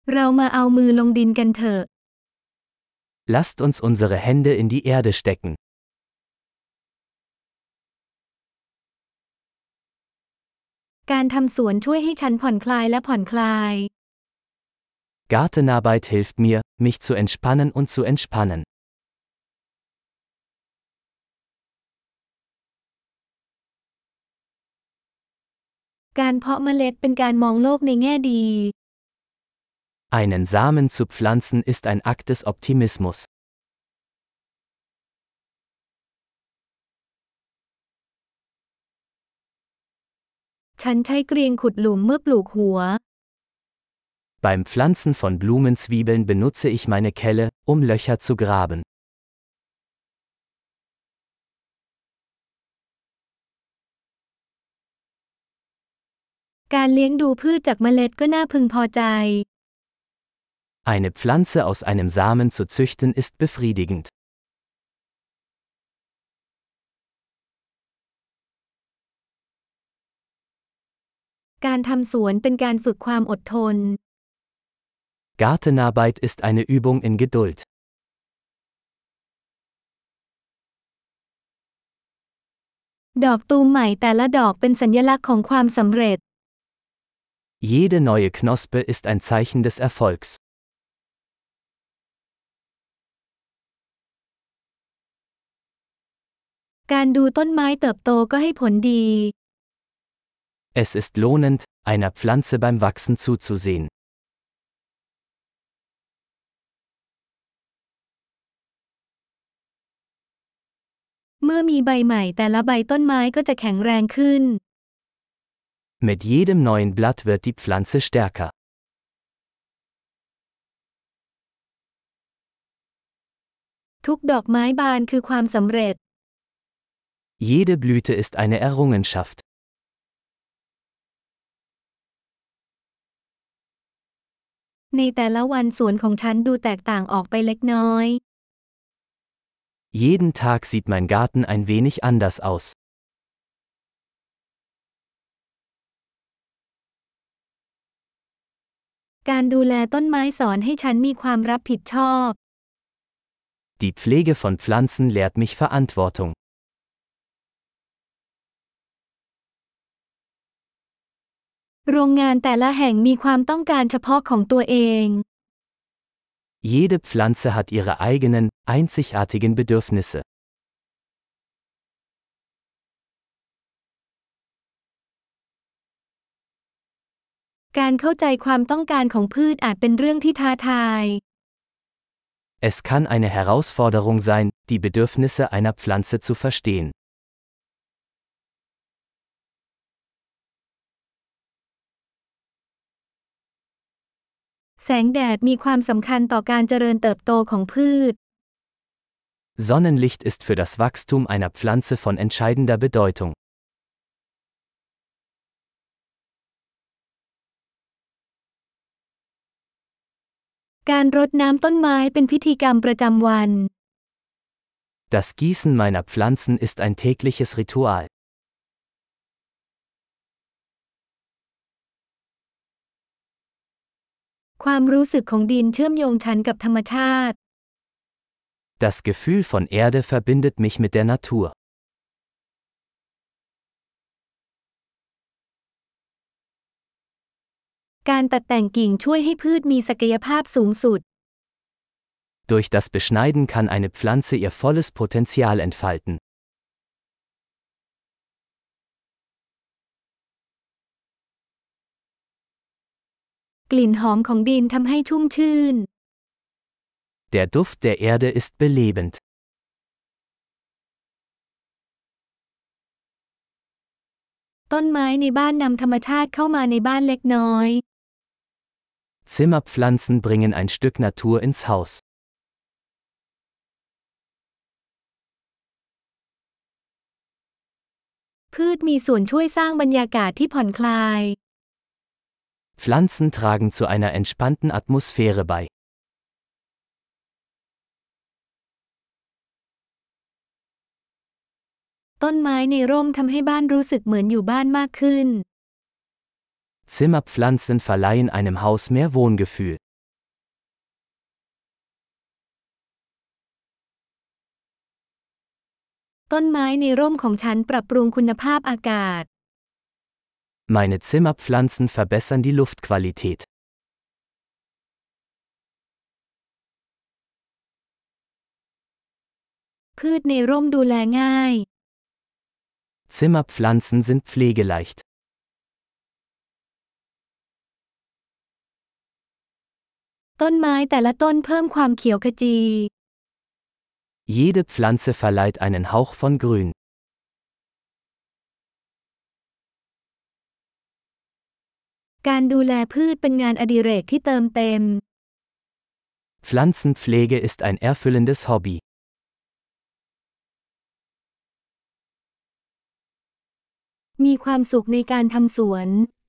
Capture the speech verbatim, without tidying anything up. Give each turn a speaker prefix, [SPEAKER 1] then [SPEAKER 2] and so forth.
[SPEAKER 1] เรามาเอามือลงดินกันเถอะ
[SPEAKER 2] Lasst uns unsere Hände in die Erde stecken.
[SPEAKER 1] การทำสวนช่วยให้ฉันผ่อนคลายและผ่อนคลาย
[SPEAKER 2] Gartenarbeit hilft mir, mich zu entspannen und zu entspannen.
[SPEAKER 1] การเพาะเมล็ดเป็นการมองโลกในแง่ดี
[SPEAKER 2] Einen Samen zu pflanzen ist ein Akt des Optimismus.
[SPEAKER 1] ฉันใช้เกรียงขุดหลุมเมื่อปลูกหัว
[SPEAKER 2] Beim Pflanzen von Blumenzwiebeln benutze ich meine Kelle, um Löcher zu graben.
[SPEAKER 1] การเลี้ยงดูพืชจากเมล็ดก็น่าพึงพอใจ
[SPEAKER 2] Eine Pflanze aus einem Samen zu züchten ist befriedigend.
[SPEAKER 1] การทำสวนเป็นการฝึกความอดทน
[SPEAKER 2] Gartenarbeit ist eine Übung in Geduld.
[SPEAKER 1] ดอกตูมใหม่แต่ละดอกเป็นสัญลักษณ์ของความสำเร็จ
[SPEAKER 2] Jede neue Knospe ist ein Zeichen des Erfolgs.
[SPEAKER 1] การดูต้นไม้เติบโตก็ให้ผลดี
[SPEAKER 2] Es ist lohnend, einer Pflanze beim Wachsen zuzusehen.
[SPEAKER 1] เมื่อมีใบใหม่แต่ละใบต้นไม้ก็จะแข็งแรงขึ้น
[SPEAKER 2] Mit jedem neuen Blatt wird die Pflanze stärker.
[SPEAKER 1] ทุกดอกไม้บานคือความสำเร็จ
[SPEAKER 2] Jede Blüte ist eine Errungenschaft.
[SPEAKER 1] ในแต่ละวันสวนของฉันดูแตกต่างออกไปเล็กน้อย
[SPEAKER 2] Jeden Tag sieht mein Garten ein wenig anders aus.
[SPEAKER 1] การดูแลต้นไม้สอนให้ฉันมีความรับผิดชอบ
[SPEAKER 2] Die Pflege von Pflanzen lehrt mich Verantwortung.
[SPEAKER 1] โรงงานแต่ละแห่งมีความต้องการเฉพาะของตัวเอง
[SPEAKER 2] Jede Pflanze hat ihre eigenen, einzigartigen Bedürfnisse.
[SPEAKER 1] การเข้าใจความต้องการของพืชอาจเป็นเรื่องที่ท้าทาย
[SPEAKER 2] Es kann eine Herausforderung sein, die Bedürfnisse einer Pflanze zu verstehen.
[SPEAKER 1] แสงแดดมีความสำคัญต่อการเจริญเติบโตของพืช
[SPEAKER 2] Sonnenlicht ist für das Wachstum einer Pflanze von entscheidender Bedeutung.
[SPEAKER 1] การรดน้ำต้นไม้เป็นพิธีกรรมประจำวัน
[SPEAKER 2] Das Gießen meiner Pflanzen ist ein tägliches Ritual.
[SPEAKER 1] ความรู้สึกของดินเชื่อมโยงฉันกับธรรมชาติ
[SPEAKER 2] Das Gefühl von Erde verbindet mich mit der Natur.
[SPEAKER 1] การตัดแต่งกิ่งช่วยให้พืชมีศักยภาพสูงสุด
[SPEAKER 2] Durch das Beschneiden kann eine Pflanze ihr volles Potenzial entfalten.
[SPEAKER 1] กลิ่นหอมของดินทำให้ชุ่มชื่น
[SPEAKER 2] Der Duft der Erde ist belebend.
[SPEAKER 1] ต้นไม้ในบ้านนำธรรมชาติเข้ามาในบ้านเล็กน้อย
[SPEAKER 2] Zimmerpflanzen bringen ein Stück Natur ins Haus.
[SPEAKER 1] พืชมีส่วนช่วยสร้างบรรยากาศที่ผ่อนคลาย
[SPEAKER 2] Pflanzen tragen zu einer entspannten Atmosphäre bei.
[SPEAKER 1] ต้นไม้ในร่มทำให้บ้านรู้สึกเหมือนอยู่บ้านมากขึ้น
[SPEAKER 2] Zimmerpflanzen verleihen einem Haus mehr Wohngefühl.
[SPEAKER 1] ต้นไม้ในร่มของฉันปรับปรุงคุณภาพอากาศ
[SPEAKER 2] Meine Zimmerpflanzen verbessern die Luftqualität.
[SPEAKER 1] พืชในร่มดูแลง่าย
[SPEAKER 2] Zimmerpflanzen sind pflegeleicht.
[SPEAKER 1] ต้นไม้แต่ละต้นเพิ่มความเขียวขจี
[SPEAKER 2] Jede Pflanze verleiht einen Hauch von Grün.
[SPEAKER 1] การดูแลพืชเป็นงานอดิเรกที่เติมเต็ม
[SPEAKER 2] Pflanzenpflege ist ein erfüllendes Hobby.
[SPEAKER 1] มีความสุขในการทำสวน